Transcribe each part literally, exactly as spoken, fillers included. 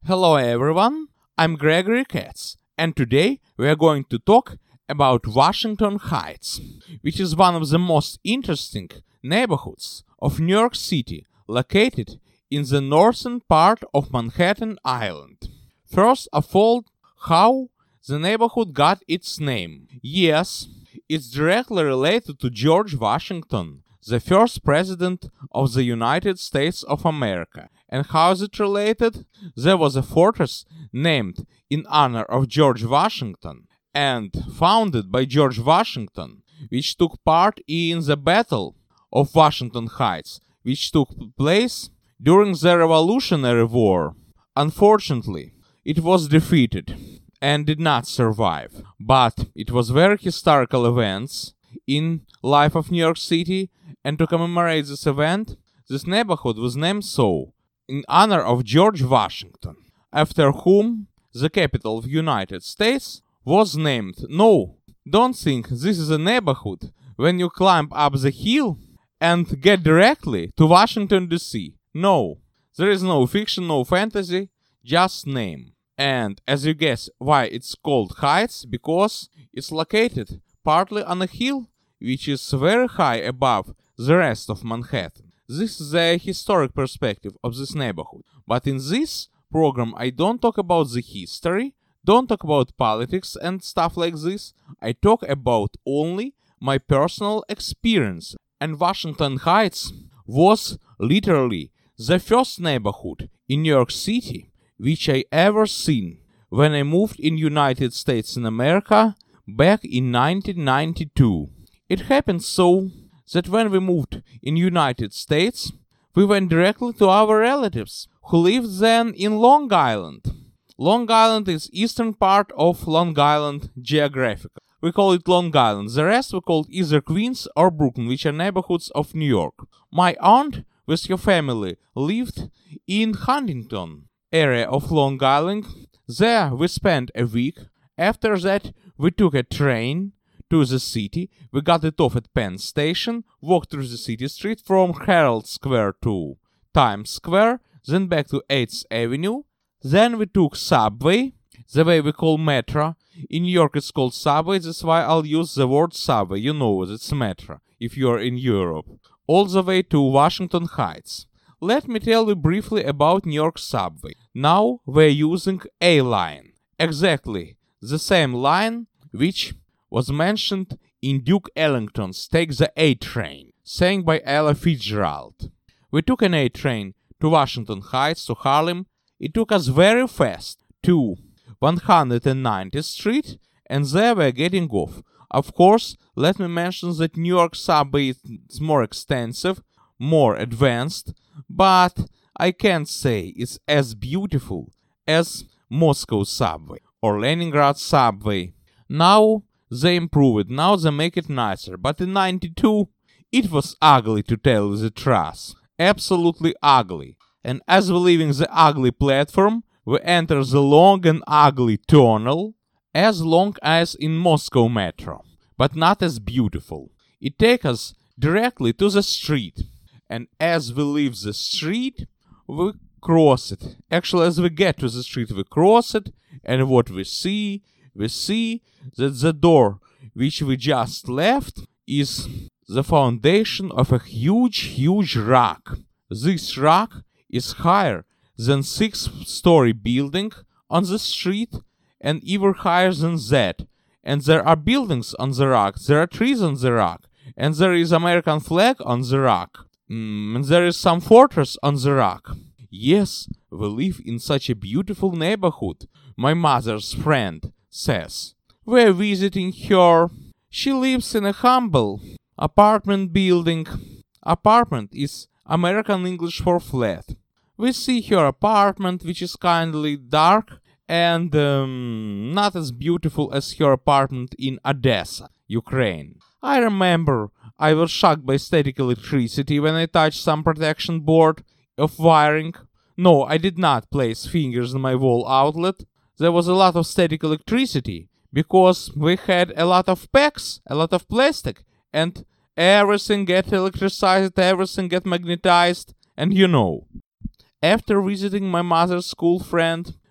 Hello everyone, I'm Gregory Katz, and today we are going to talk about Washington Heights, which is one of the most interesting neighborhoods of New York City, located in the northern part of Manhattan Island. First of all, how the neighborhood got its name. Yes, it's directly related to George Washington, the first president of the United States of America. And how is it related? There was a fortress named in honor of George Washington and founded by George Washington, which took part in the Battle of Washington Heights, which took place during the Revolutionary War. Unfortunately, it was defeated and did not survive, but it was very historical events in life of New York City, and to commemorate this event, this neighborhood was named so, in honor of George Washington, after whom the capital of United States was named. No, don't think this is a neighborhood when you climb up the hill and get directly to Washington D C. No, there is no fiction, no fantasy, just name. And as you guess why it's called Heights, because it's located partly on a hill which is very high above the rest of Manhattan. This is the historic perspective of this neighborhood. But in this program, I don't talk about the history, don't talk about politics and stuff like this. I talk about only my personal experience. And Washington Heights was literally the first neighborhood in New York City which I ever seen when I moved in United States in America back in nineteen ninety-two. It happened so that when we moved in United States, we went directly to our relatives who lived then in Long Island. Long Island is eastern part of Long Island geographically. We call it Long Island. The rest we call either Queens or Brooklyn, which are neighborhoods of New York. My aunt with her family lived in Huntington area of Long Island. There we spent a week. After that we took a train to the city. We got it off at Penn Station, walked through the city street from Herald Square to Times Square, then back to eighth Avenue. Then we took subway, the way we call metro. In New York it's called subway, that's why I'll use the word subway. You know it's metro if you're in Europe. All the way to Washington Heights. Let me tell you briefly about New York subway. Now we're using A line. Exactly the same line which was mentioned in Duke Ellington's Take the A Train, sang by Ella Fitzgerald. We took an A train to Washington Heights, to Harlem. It took us very fast to one hundred ninetieth Street, and there we're getting off. Of course, let me mention that New York subway is more extensive, more advanced, but I can't say it's as beautiful as Moscow subway or Leningrad subway. Now they improve it, now they make it nicer, but in ninety-two it was ugly, to tell you the truth. Absolutely ugly. And as we leaving the ugly platform, we enter the long and ugly tunnel, as long as in Moscow metro, but not as beautiful. It takes us directly to the street, and as we leave the street, we cross it. Actually, as we get to the street, we cross it, and what we see, we see that the door which we just left is the foundation of a huge, huge rock. This rock is higher than six-story building on the street and even higher than that. And there are buildings on the rock, there are trees on the rock, and there is American flag on the rock, mm, and there is some fortress on the rock. Yes, we live in such a beautiful neighborhood, my mother's friend says. We're visiting her. She lives in a humble apartment building. Apartment is American English for flat. We see her apartment, which is kindly dark and um, not as beautiful as her apartment in Odessa, Ukraine. I remember I was shocked by static electricity when I touched some protection board of wiring. No, I did not place fingers in my wall outlet. There was a lot of static electricity because we had a lot of packs, a lot of plastic, and everything get electricized, everything get magnetized, and you know. After visiting my mother's school friend,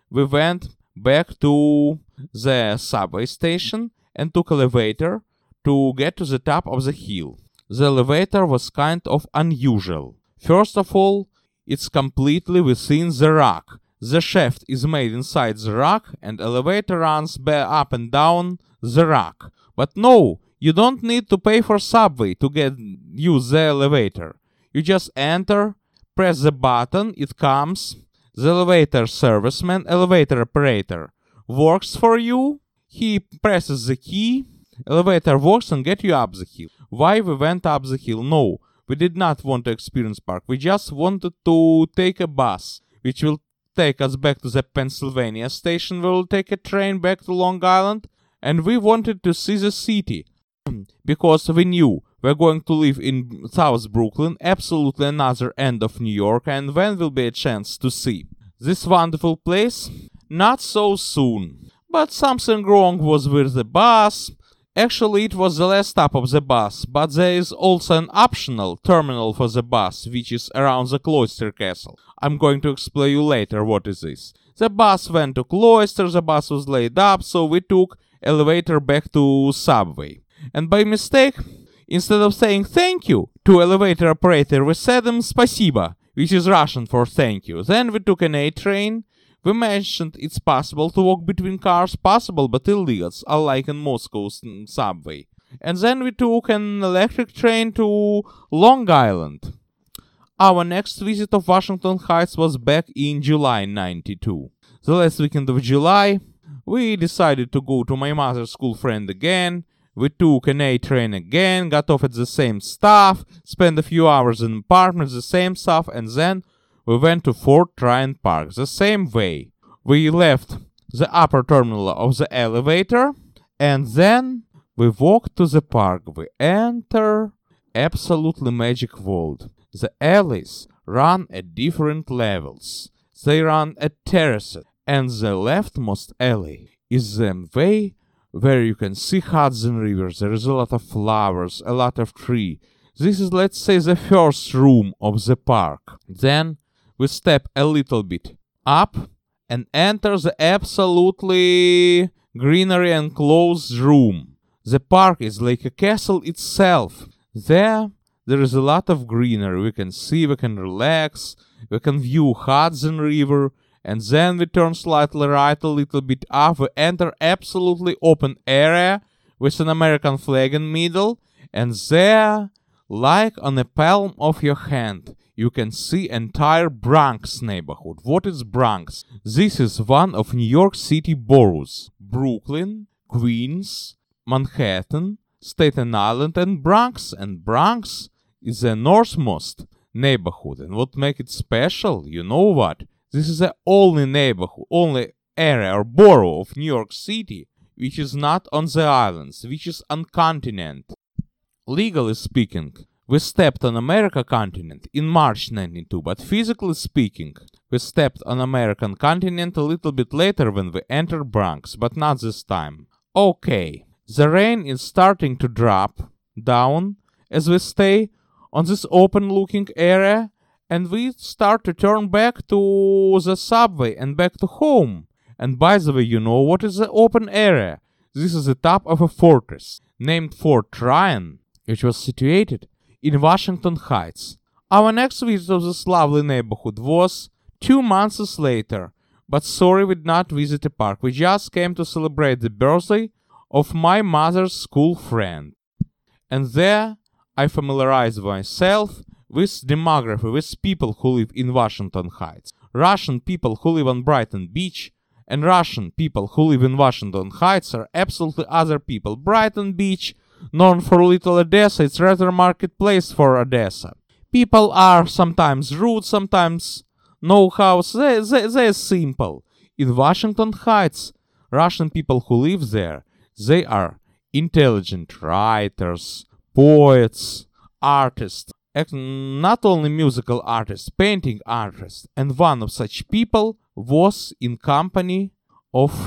we went back to the subway station and took elevator to get to the top of the hill. The elevator was kind of unusual. First of all, it's completely within the rock. The shaft is made inside the rock and elevator runs up and down the rock. But no, you don't need to pay for subway to get use the elevator. You just enter, press the button, it comes. The elevator serviceman, elevator operator, works for you. He presses the key, elevator works and get you up the hill. Why we went up the hill? No, we did not want to experience park. We just wanted to take a bus, which will take us back to the Pennsylvania station. We will take a train back to Long Island, and we wanted to see the city because we knew we're going to live in South Brooklyn, absolutely another end of New York, and when will be a chance to see this wonderful place? Not so soon. But something wrong was with the bus. Actually, it was the last stop of the bus, but there is also an optional terminal for the bus, which is around the Cloister Castle. I'm going to explain you later what is this. The bus went to Cloister, the bus was laid up, so we took elevator back to subway. And by mistake, instead of saying thank you to elevator operator, we said him spasiba, which is Russian for thank you. Then we took an A train. We mentioned it's possible to walk between cars, possible but illegal, unlike in Moscow's subway. And then we took an electric train to Long Island. Our next visit of Washington Heights was back in July ninety-two. The last weekend of July, we decided to go to my mother's school friend again. We took an A train again, got off at the same stop, spent a few hours in apartments, the same stuff, and then we went to Fort Tryon Park the same way. We left the upper terminal of the elevator, and then we walked to the park. We enter absolutely magic world. The alleys run at different levels. They run at terraces, and the leftmost alley is the way where you can see Hudson River. There is a lot of flowers, a lot of tree. This is, let's say, the first room of the park. Then we step a little bit up and enter the absolutely greenery enclosed room. The park is like a castle itself. There, there is a lot of greenery. We can see, we can relax, we can view Hudson River, and then we turn slightly right a little bit up. We enter absolutely open area with an American flag in middle, and there, like on the palm of your hand, you can see entire Bronx neighborhood. What is Bronx? This is one of New York City boroughs. Brooklyn, Queens, Manhattan, Staten Island, and Bronx. And Bronx is the northmost neighborhood. And what makes it special? You know what? This is the only neighborhood, only area or borough of New York City which is not on the islands, which is on continent. Legally speaking, we stepped on America continent in March ninety-two, but physically speaking, we stepped on American continent a little bit later when we entered Bronx, but not this time. Okay, the rain is starting to drop down as we stay on this open-looking area, and we start to turn back to the subway and back to home. And by the way, you know what is the open area? This is the top of a fortress named Fort Tryon, which was situated in Washington Heights. Our next visit of this lovely neighborhood was two months later, but sorry we did not visit the park. We just came to celebrate the birthday of my mother's school friend. And there I familiarized myself with demography, with people who live in Washington Heights. Russian people who live on Brighton Beach and Russian people who live in Washington Heights are absolutely other people. Brighton Beach, known for Little Odessa, it's rather marketplace for Odessa. People are sometimes rude, sometimes know how, they, they, they're simple. In Washington Heights, Russian people who live there, they are intelligent writers, poets, artists, not only musical artists, painting artists. And one of such people was in company of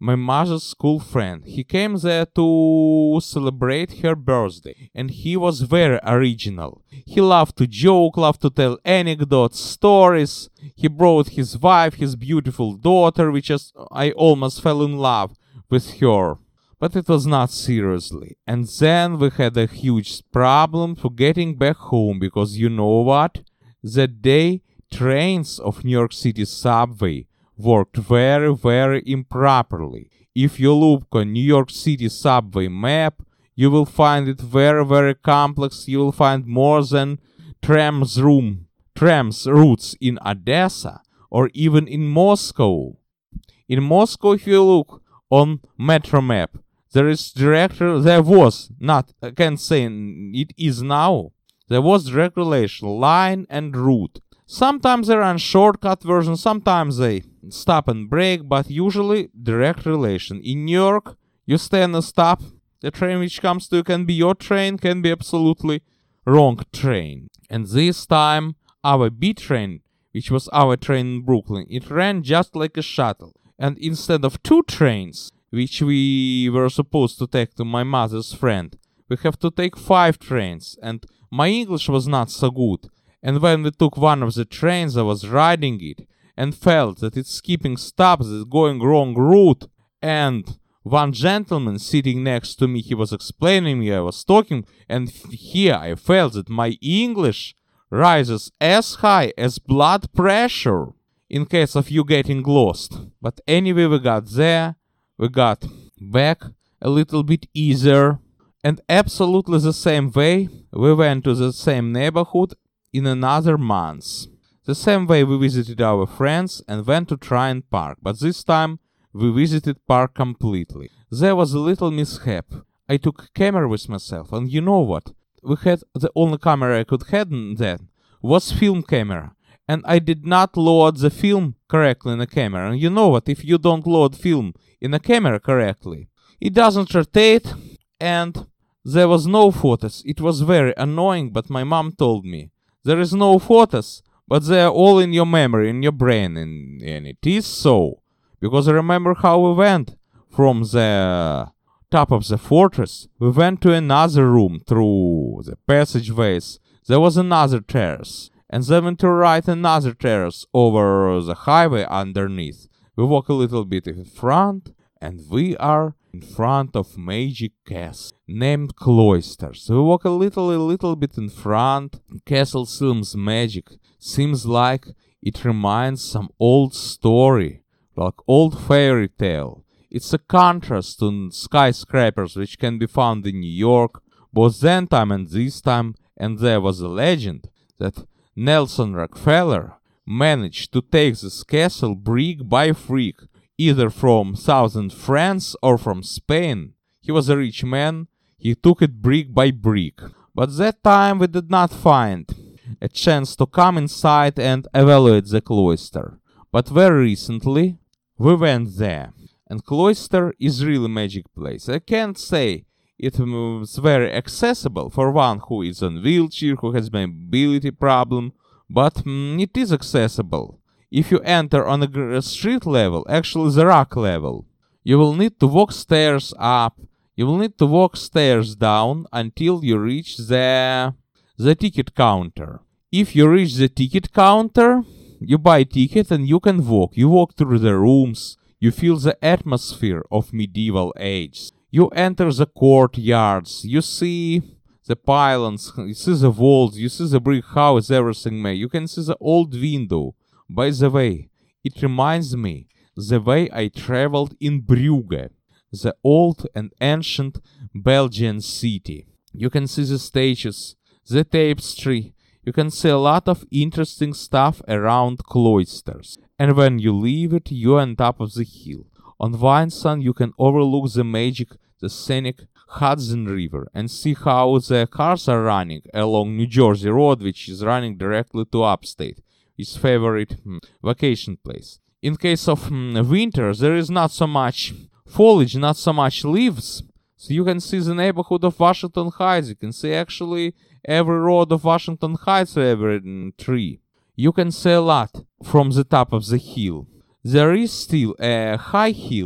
my mother's school friend. He came there to celebrate her birthday, and he was very original. He loved to joke, loved to tell anecdotes, stories. He brought his wife, his beautiful daughter, which is, I almost fell in love with her. But it was not seriously. And then we had a huge problem for getting back home, because you know what? That day, trains of New York City subway worked very, very improperly. If you look on New York City subway map, you will find it very, very complex. You will find more than trams room, trams routes in Odessa or even in Moscow. In Moscow, if you look on metro map, there is direct, there was, not, I can't say it is now, there was direct relation, line and route. Sometimes they run shortcut version, sometimes they stop and break, but usually direct relation. In New York, you stay on a stop, the train which comes to you can be your train, can be absolutely wrong train. And this time, our B train, which was our train in Brooklyn, it ran just like a shuttle. And instead of two trains, which we were supposed to take to my mother's friend, we have to take five trains, and my English was not so good. And when we took one of the trains, I was riding it and felt that it's skipping stops, it's going wrong route. And one gentleman sitting next to me, he was explaining me, I was talking, and here I felt that my English rises as high as blood pressure in case of you getting lost. But anyway, we got there, we got back a little bit easier, and absolutely the same way, we went to the same neighborhood in another month. The same way we visited our friends and went to Tryon Park, but this time we visited park completely. There was a little mishap. I took camera with myself, and you know what? We had the only camera I could have then was film camera, and I did not load the film correctly in the camera. And you know what? If you don't load film in a camera correctly, it doesn't rotate, and there was no photos. It was very annoying, but my mom told me, there is no photos, but they are all in your memory, in your brain, and, and it is so. Because I remember how we went from the top of the fortress. We went to another room through the passageways. There was another terrace, and then went to right another terrace over the highway underneath. We walk a little bit in front, and we are in front of magic castle named Cloisters. We walk a little, a little bit in front. Castle seems magic. Seems like it reminds some old story, like old fairy tale. It's a contrast to skyscrapers which can be found in New York, both then time and this time, and there was a legend that Nelson Rockefeller managed to take this castle brick by brick, either from southern France or from Spain. He was a rich man, he took it brick by brick. But that time we did not find a chance to come inside and evaluate the cloister. But very recently we went there. And Cloister is really a magic place. I can't say it was very accessible for one who is on wheelchair, who has mobility problem, but mm, it is accessible. If you enter on a street level, actually the rock level, you will need to walk stairs up, you will need to walk stairs down until you reach the, the ticket counter. If you reach the ticket counter, you buy ticket and you can walk. You walk through the rooms, you feel the atmosphere of medieval age. You enter the courtyards, you see the pylons, you see the walls, you see the brick house, everything made. You can see the old window. By the way, it reminds me the way I traveled in Brugge, the old and ancient Belgian city. You can see the statues, the tapestry. You can see a lot of interesting stuff around Cloisters. And when you leave it, you're on top of the hill. On one side, you can overlook the magic, the scenic Hudson River and see how the cars are running along New Jersey Road, which is running directly to upstate, his favorite hmm, vacation place. In case of hmm, winter, there is not so much foliage, not so much leaves, so you can see the neighborhood of Washington Heights. You can see actually every road of Washington Heights, every mm, tree. You can see a lot from the top of the hill. There is still a high hill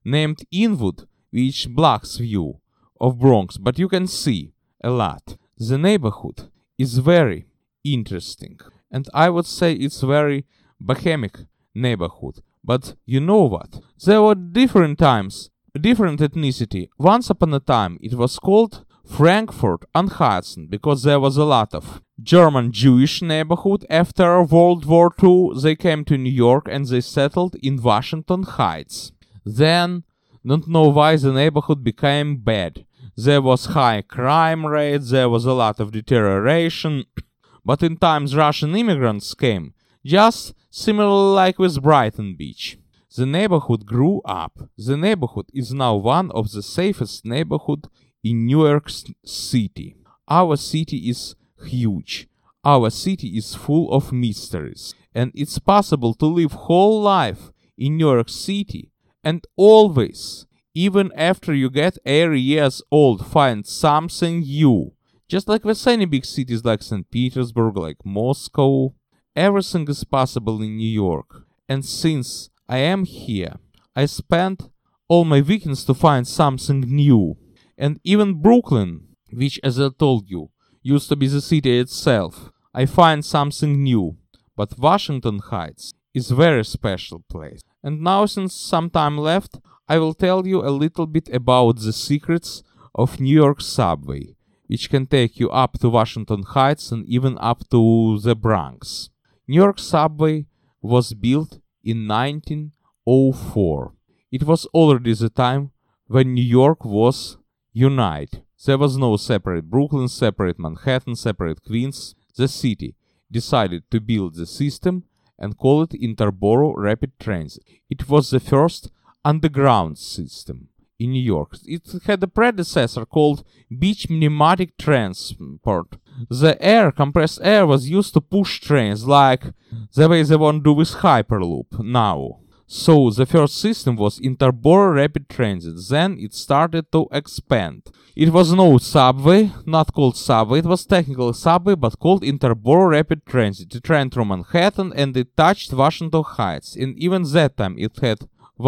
named Inwood, which blocks view of Bronx, but you can see a lot. The neighborhood is very interesting, and I would say it's very bohemic neighborhood. But you know what? There were different times, different ethnicity. Once upon a time it was called Frankfurt on Hudson because there was a lot of German Jewish neighborhood. After World War Two they came to New York and they settled in Washington Heights. Then, don't know why the neighborhood became bad. There was high crime rate, there was a lot of deterioration, but in times Russian immigrants came, just similar like with Brighton Beach. The neighborhood grew up. The neighborhood is now one of the safest neighborhoods in New York City. Our city is huge. Our city is full of mysteries. And it's possible to live whole life in New York City and always, even after you get eighty years old, find something new. Just like with any big cities like Saint Petersburg, like Moscow, everything is possible in New York. And since I am here, I spent all my weekends to find something new. And even Brooklyn, which, as I told you, used to be the city itself, I find something new. But Washington Heights is a very special place. And now, since some time left, I will tell you a little bit about the secrets of New York subway, which can take you up to Washington Heights and even up to the Bronx. New York subway was built in nineteen oh four. It was already the time when New York was united. There was no separate Brooklyn, separate Manhattan, separate Queens. The city decided to build the system and call it Interborough Rapid Transit. It was the first underground system in New York. It had a predecessor called Beach Pneumatic Transport. The air, compressed air, was used to push trains like the way they want to do with Hyperloop now. So the first system was Interborough Rapid Transit. Then it started to expand. It was no subway, not called subway. It was technically subway, but called Interborough Rapid Transit. It ran through Manhattan and it touched Washington Heights. And even that time it had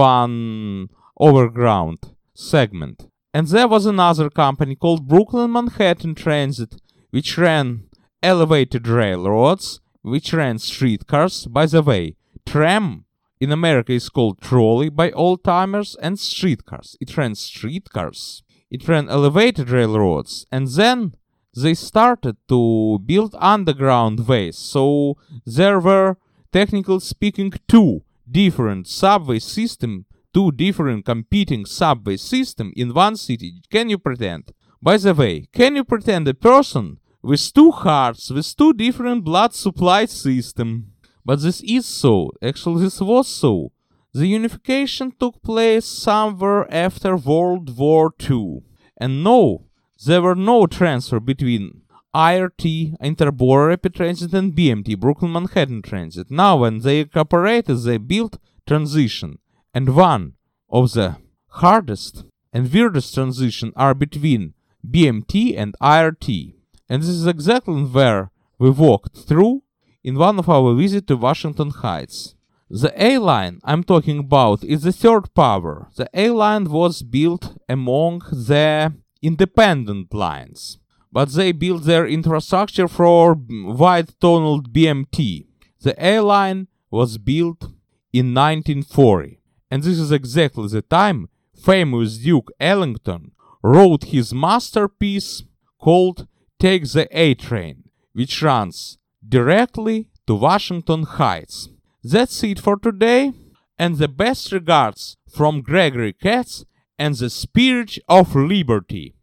one overground segment. And there was another company called Brooklyn Manhattan Transit, which ran elevated railroads, which ran streetcars. By the way, tram in America is called trolley by old-timers, and streetcars. It ran streetcars. It ran elevated railroads. And then they started to build underground ways. So there were, technically speaking, two different subway systems, two different competing subway systems in one city. Can you pretend? By the way, can you pretend a person with two hearts, with two different blood supply systems? But this is so. Actually, this was so. The unification took place somewhere after World War Two. And no, there were no transfer between I R T, Interborough Rapid Transit, and B M T, Brooklyn Manhattan Transit. Now, when they incorporated, they built transition. And one of the hardest and weirdest transitions are between B M T and I R T. And this is exactly where we walked through in one of our visits to Washington Heights. The A-line I'm talking about is the third power. The A-line was built among the independent lines, but they built their infrastructure for wide-tunneled B M T. The A-line was built in nineteen forty, and this is exactly the time famous Duke Ellington wrote his masterpiece called Take the A-Train, which runs directly to Washington Heights. That's it for today, and the best regards from Gregory Katz and the Spirit of Liberty.